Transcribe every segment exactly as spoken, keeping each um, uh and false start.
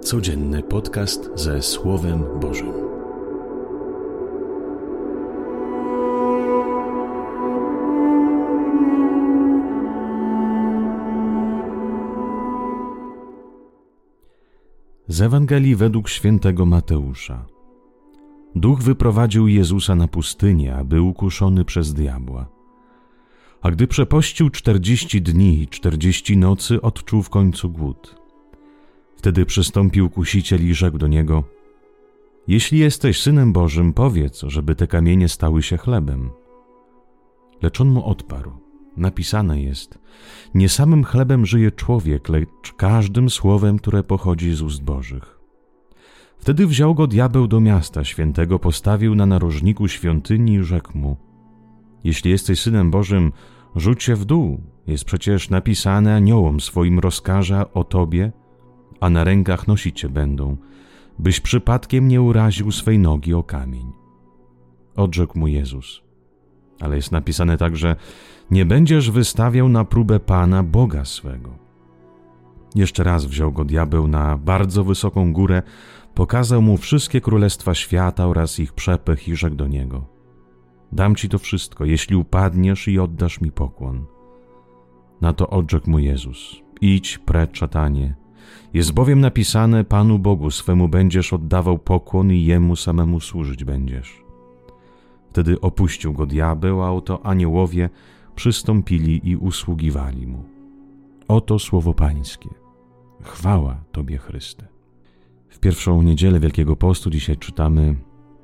Codzienny podcast ze Słowem Bożym. Z Ewangelii według świętego Mateusza. Duch wyprowadził Jezusa na pustynię, aby ukuszony przez diabła. A gdy przepościł czterdzieści dni i czterdzieści nocy, odczuł w końcu głód. Wtedy przystąpił kusiciel i rzekł do niego: Jeśli jesteś Synem Bożym, powiedz, żeby te kamienie stały się chlebem. Lecz on mu odparł: Napisane jest: Nie samym chlebem żyje człowiek, lecz każdym słowem, które pochodzi z ust Bożych. Wtedy wziął go diabeł do miasta świętego, postawił na narożniku świątyni i rzekł mu: Jeśli jesteś Synem Bożym, rzuć się w dół. Jest przecież napisane: Aniołom swoim rozkaże o tobie, a na rękach nosić cię będą, byś przypadkiem nie uraził swej nogi o kamień. Odrzekł mu Jezus: Ale jest napisane także: Nie będziesz wystawiał na próbę Pana, Boga swego. Jeszcze raz wziął go diabeł na bardzo wysoką górę, pokazał mu wszystkie królestwa świata oraz ich przepych i rzekł do niego: Dam ci to wszystko, jeśli upadniesz i oddasz mi pokłon. Na to odrzekł mu Jezus: Idź precz, szatanie. Jest bowiem napisane: Panu Bogu swemu będziesz oddawał pokłon i Jemu samemu służyć będziesz. Wtedy opuścił go diabeł, a oto aniołowie przystąpili i usługiwali mu. Oto słowo Pańskie. Chwała Tobie, Chryste. W pierwszą niedzielę Wielkiego Postu dzisiaj czytamy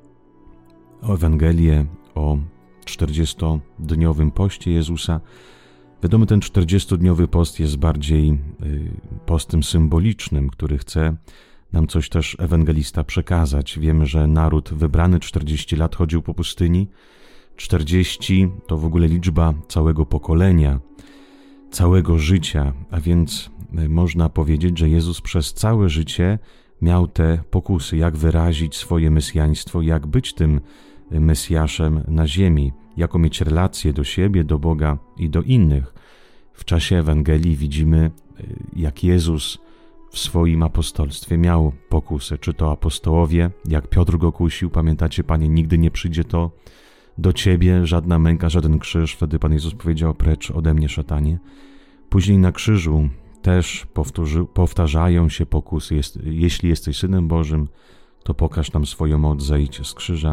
o Ewangelię o czterdziestodniowym poście Jezusa. Wiadomo, ten czterdziestodniowy post jest bardziej postem symbolicznym, który chce nam coś też ewangelista przekazać. Wiemy, że naród wybrany czterdzieści lat chodził po pustyni. czterdzieści to w ogóle liczba całego pokolenia, całego życia, a więc można powiedzieć, że Jezus przez całe życie miał te pokusy, jak wyrazić swoje mesjaństwo, jak być tym Mesjaszem na ziemi, jaką mieć relację do siebie, do Boga i do innych. W czasie Ewangelii widzimy, jak Jezus w swoim apostolstwie miał pokusy, czy to apostołowie, jak Piotr go kusił, pamiętacie, Panie, nigdy nie przyjdzie to do Ciebie, żadna męka, żaden krzyż. Wtedy Pan Jezus powiedział: Precz ode mnie, szatanie. Później na krzyżu też powtórzy, powtarzają się pokusy. Jest, jeśli jesteś Synem Bożym, to pokaż nam swoją moc, zejdź z krzyża.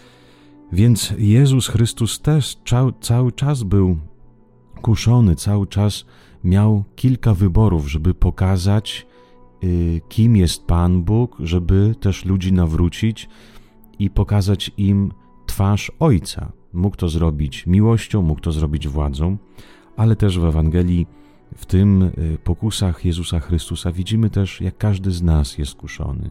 Więc Jezus Chrystus też cały, cały czas był kuszony, cały czas miał kilka wyborów, żeby pokazać, y, kim jest Pan Bóg, żeby też ludzi nawrócić i pokazać im twarz Ojca. Mógł to zrobić miłością, mógł to zrobić władzą, ale też w Ewangelii, w tym y, pokusach Jezusa Chrystusa widzimy też, jak każdy z nas jest kuszony.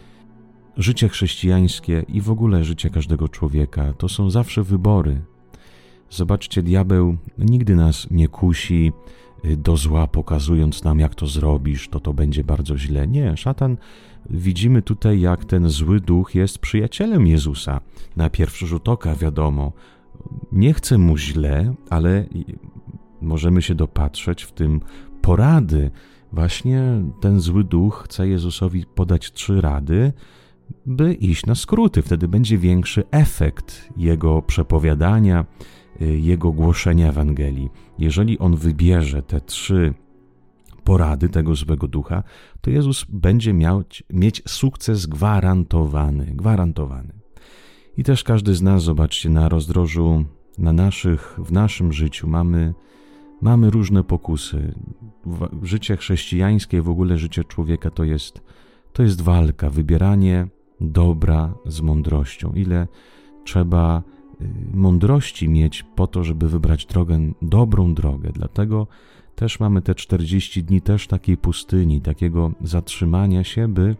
Życie chrześcijańskie i w ogóle życie każdego człowieka to są zawsze wybory. Zobaczcie, diabeł nigdy nas nie kusi do zła, pokazując nam, jak to zrobisz, to to będzie bardzo źle. Nie, szatan, widzimy tutaj, jak ten zły duch jest przyjacielem Jezusa. Na pierwszy rzut oka, wiadomo, nie chce mu źle, ale możemy się dopatrzeć w tym porady. Właśnie ten zły duch chce Jezusowi podać trzy rady, by iść na skróty. Wtedy będzie większy efekt jego przepowiadania, jego głoszenia Ewangelii. Jeżeli on wybierze te trzy porady tego złego ducha, to Jezus będzie miał, mieć sukces gwarantowany. Gwarantowany. I też każdy z nas, zobaczcie, na rozdrożu, na naszych, w naszym życiu mamy, mamy różne pokusy. Życie chrześcijańskie, w ogóle życie człowieka to jest, to jest walka, wybieranie dobra z mądrością. Ile trzeba mądrości mieć po to, żeby wybrać drogę, dobrą drogę. Dlatego też mamy te czterdzieści dni też takiej pustyni, takiego zatrzymania się, by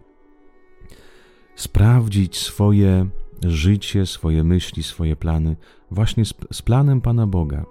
sprawdzić swoje życie, swoje myśli, swoje plany właśnie z, z planem Pana Boga.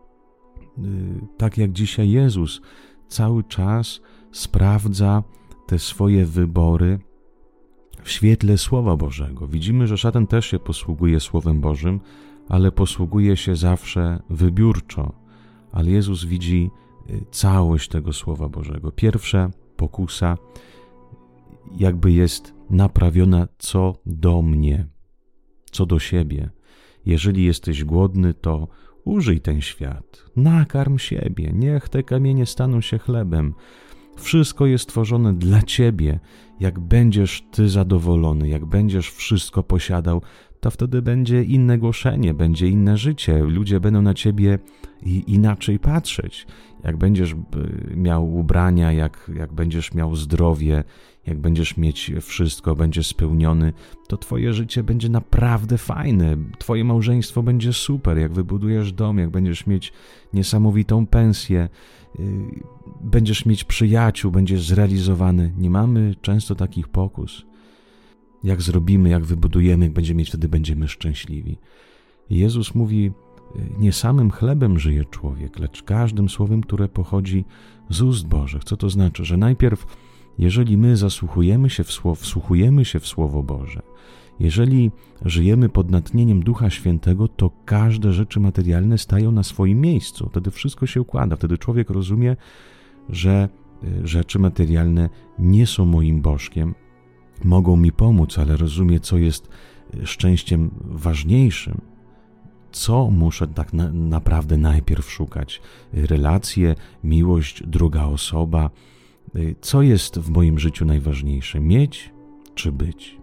Tak jak dzisiaj Jezus cały czas sprawdza te swoje wybory w świetle Słowa Bożego. Widzimy, że szatan też się posługuje Słowem Bożym, ale posługuje się zawsze wybiórczo. Ale Jezus widzi całość tego Słowa Bożego. Pierwsza pokusa jakby jest naprawiona co do mnie, co do siebie. Jeżeli jesteś głodny, to użyj ten świat, nakarm siebie, niech te kamienie staną się chlebem. Wszystko jest tworzone dla ciebie. Jak będziesz ty zadowolony, jak będziesz wszystko posiadał, to wtedy będzie inne głoszenie, będzie inne życie. Ludzie będą na ciebie inaczej patrzeć. Jak będziesz miał ubrania, jak, jak będziesz miał zdrowie, jak będziesz mieć wszystko, będziesz spełniony, to twoje życie będzie naprawdę fajne. Twoje małżeństwo będzie super. Jak wybudujesz dom, jak będziesz mieć niesamowitą pensję, będziesz mieć przyjaciół, będziesz zrealizowany. Nie mamy często takich pokus. Jak zrobimy, jak wybudujemy, jak będziemy mieć, wtedy będziemy szczęśliwi. Jezus mówi, nie samym chlebem żyje człowiek, lecz każdym słowem, które pochodzi z ust Bożych. Co to znaczy? Że najpierw, jeżeli my zasłuchujemy się w słowo, wsłuchujemy się w Słowo Boże, jeżeli żyjemy pod natchnieniem Ducha Świętego, to każde rzeczy materialne stają na swoim miejscu. Wtedy wszystko się układa. Wtedy człowiek rozumie, że rzeczy materialne nie są moim bożkiem, mogą mi pomóc, ale rozumie, co jest szczęściem ważniejszym. Co muszę tak na, naprawdę najpierw szukać? Relacje, miłość, druga osoba. Co jest w moim życiu najważniejsze? Mieć czy być?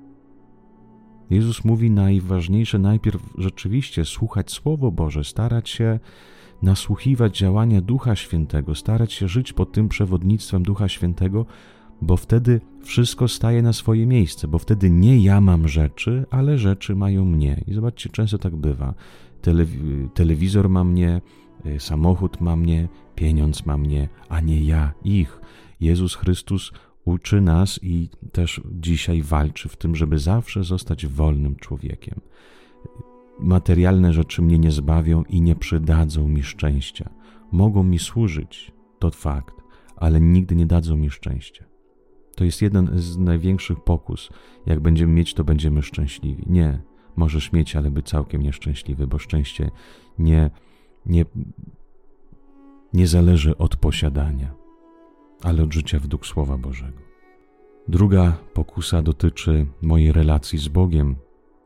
Jezus mówi, najważniejsze najpierw rzeczywiście słuchać Słowo Boże, starać się nasłuchiwać działania Ducha Świętego, starać się żyć pod tym przewodnictwem Ducha Świętego, bo wtedy wszystko staje na swoje miejsce, bo wtedy nie ja mam rzeczy, ale rzeczy mają mnie. I zobaczcie, często tak bywa. Telewi- telewizor ma mnie, samochód ma mnie, pieniądz ma mnie, a nie ja ich. Jezus Chrystus uczy nas i też dzisiaj walczy w tym, żeby zawsze zostać wolnym człowiekiem. Materialne rzeczy mnie nie zbawią i nie przydadzą mi szczęścia. Mogą mi służyć, to fakt, ale nigdy nie dadzą mi szczęścia. To jest jeden z największych pokus. Jak będziemy mieć, to będziemy szczęśliwi. Nie, możesz mieć, ale być całkiem nieszczęśliwy, bo szczęście nie, nie, nie zależy od posiadania, ale od życia według Słowa Bożego. Druga pokusa dotyczy mojej relacji z Bogiem.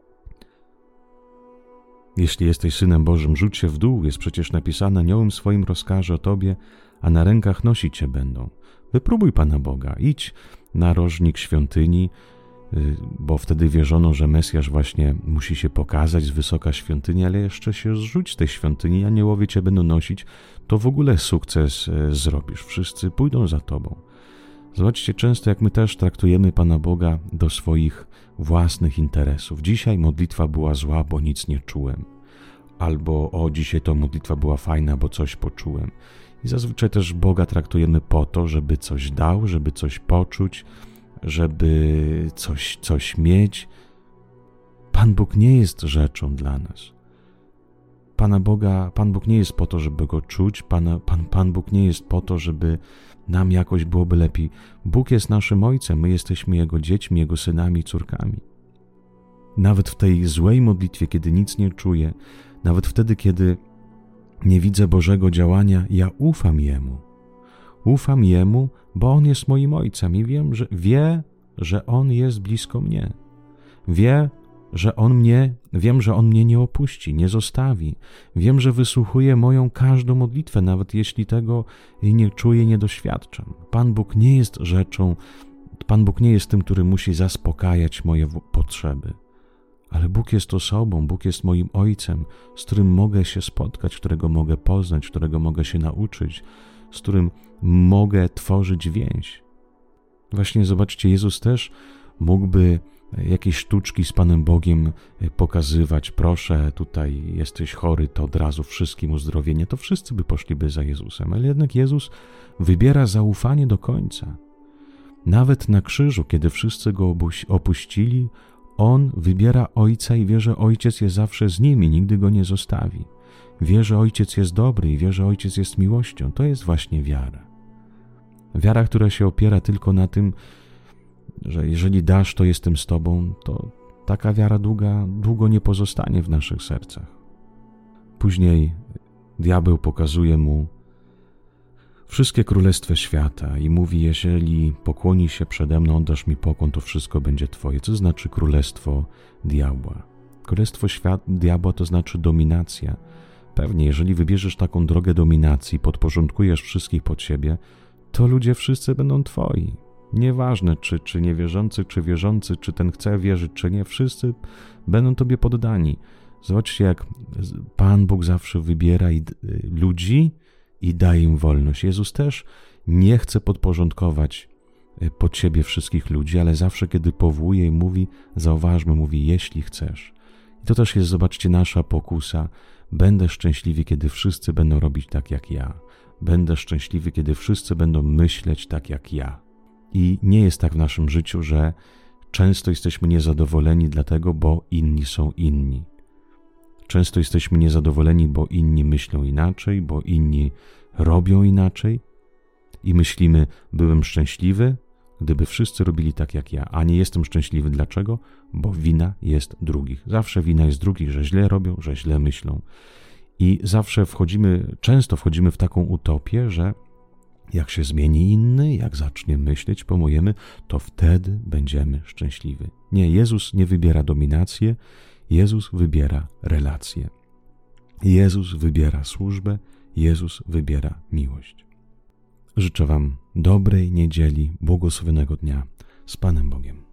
Jeśli jesteś Synem Bożym, rzuć się w dół, jest przecież napisane, aniołem swoim rozkaże o Tobie, a na rękach nosić Cię będą. Wypróbuj Pana Boga, idź na rożnik świątyni, bo wtedy wierzono, że Mesjasz właśnie musi się pokazać z wysoka świątyni, ale jeszcze się zrzuć z tej świątyni, aniołowie Cię będą nosić, to w ogóle sukces zrobisz, wszyscy pójdą za Tobą. Zobaczcie, często jak my też traktujemy Pana Boga do swoich własnych interesów. Dzisiaj modlitwa była zła, bo nic nie czułem. Albo o, dzisiaj to modlitwa była fajna, bo coś poczułem. I zazwyczaj też Boga traktujemy po to, żeby coś dał, żeby coś poczuć, żeby coś, coś mieć. Pan Bóg nie jest rzeczą dla nas. Pana Boga, Pan Bóg nie jest po to, żeby Go czuć. Pan, Pan, Pan Bóg nie jest po to, żeby nam jakoś byłoby lepiej. Bóg jest naszym Ojcem, my jesteśmy Jego dziećmi, Jego synami i córkami. Nawet w tej złej modlitwie, kiedy nic nie czuję, nawet wtedy, kiedy nie widzę Bożego działania, ja ufam Jemu. Ufam Jemu, bo On jest moim Ojcem i wiem, że wie, że On jest blisko mnie. Wie, że On mnie, wiem, że On mnie nie opuści, nie zostawi. Wiem, że wysłuchuje moją każdą modlitwę, nawet jeśli tego nie czuję, nie doświadczam. Pan Bóg nie jest rzeczą, Pan Bóg nie jest tym, który musi zaspokajać moje potrzeby. Ale Bóg jest osobą, Bóg jest moim Ojcem, z którym mogę się spotkać, którego mogę poznać, którego mogę się nauczyć, z którym mogę tworzyć więź. Właśnie zobaczcie, Jezus też mógłby jakieś sztuczki z Panem Bogiem pokazywać. Proszę, tutaj jesteś chory, to od razu wszystkim uzdrowienie. To wszyscy by poszliby za Jezusem, ale jednak Jezus wybiera zaufanie do końca. Nawet na krzyżu, kiedy wszyscy Go opuścili, On wybiera Ojca i wie, że Ojciec jest zawsze z Nim i nigdy Go nie zostawi. Wie, że Ojciec jest dobry i wie, że Ojciec jest miłością. To jest właśnie wiara. Wiara, która się opiera tylko na tym, że jeżeli dasz, to jestem z Tobą, to taka wiara długa, długo nie pozostanie w naszych sercach. Później diabeł pokazuje mu wszystkie królestwa świata i mówi, jeżeli pokłoni się przede mną, oddasz mi pokłon, to wszystko będzie twoje. Co znaczy królestwo diabła? Królestwo świat, diabła to znaczy dominacja. Pewnie, jeżeli wybierzesz taką drogę dominacji, podporządkujesz wszystkich pod siebie, to ludzie wszyscy będą twoi. Nieważne, czy, czy niewierzący, czy wierzący, czy ten chce wierzyć, czy nie, wszyscy będą tobie poddani. Zobaczcie, jak Pan Bóg zawsze wybiera ludzi i daje im wolność. Jezus też nie chce podporządkować pod siebie wszystkich ludzi, ale zawsze, kiedy powołuje i mówi, zauważmy, mówi, jeśli chcesz. I to też jest, zobaczcie, nasza pokusa. Będę szczęśliwy, kiedy wszyscy będą robić tak jak ja. Będę szczęśliwy, kiedy wszyscy będą myśleć tak jak ja. I nie jest tak w naszym życiu, że często jesteśmy niezadowoleni dlatego, bo inni są inni. Często jesteśmy niezadowoleni, bo inni myślą inaczej, bo inni robią inaczej i myślimy, byłem szczęśliwy, gdyby wszyscy robili tak jak ja, a nie jestem szczęśliwy. Dlaczego? Bo wina jest drugich. Zawsze wina jest drugich, że źle robią, że źle myślą. I zawsze wchodzimy, często wchodzimy w taką utopię, że jak się zmieni inny, jak zacznie myśleć po mojemu, to wtedy będziemy szczęśliwi. Nie, Jezus nie wybiera dominację, Jezus wybiera relacje. Jezus wybiera służbę, Jezus wybiera miłość. Życzę wam dobrej niedzieli, błogosławionego dnia z Panem Bogiem.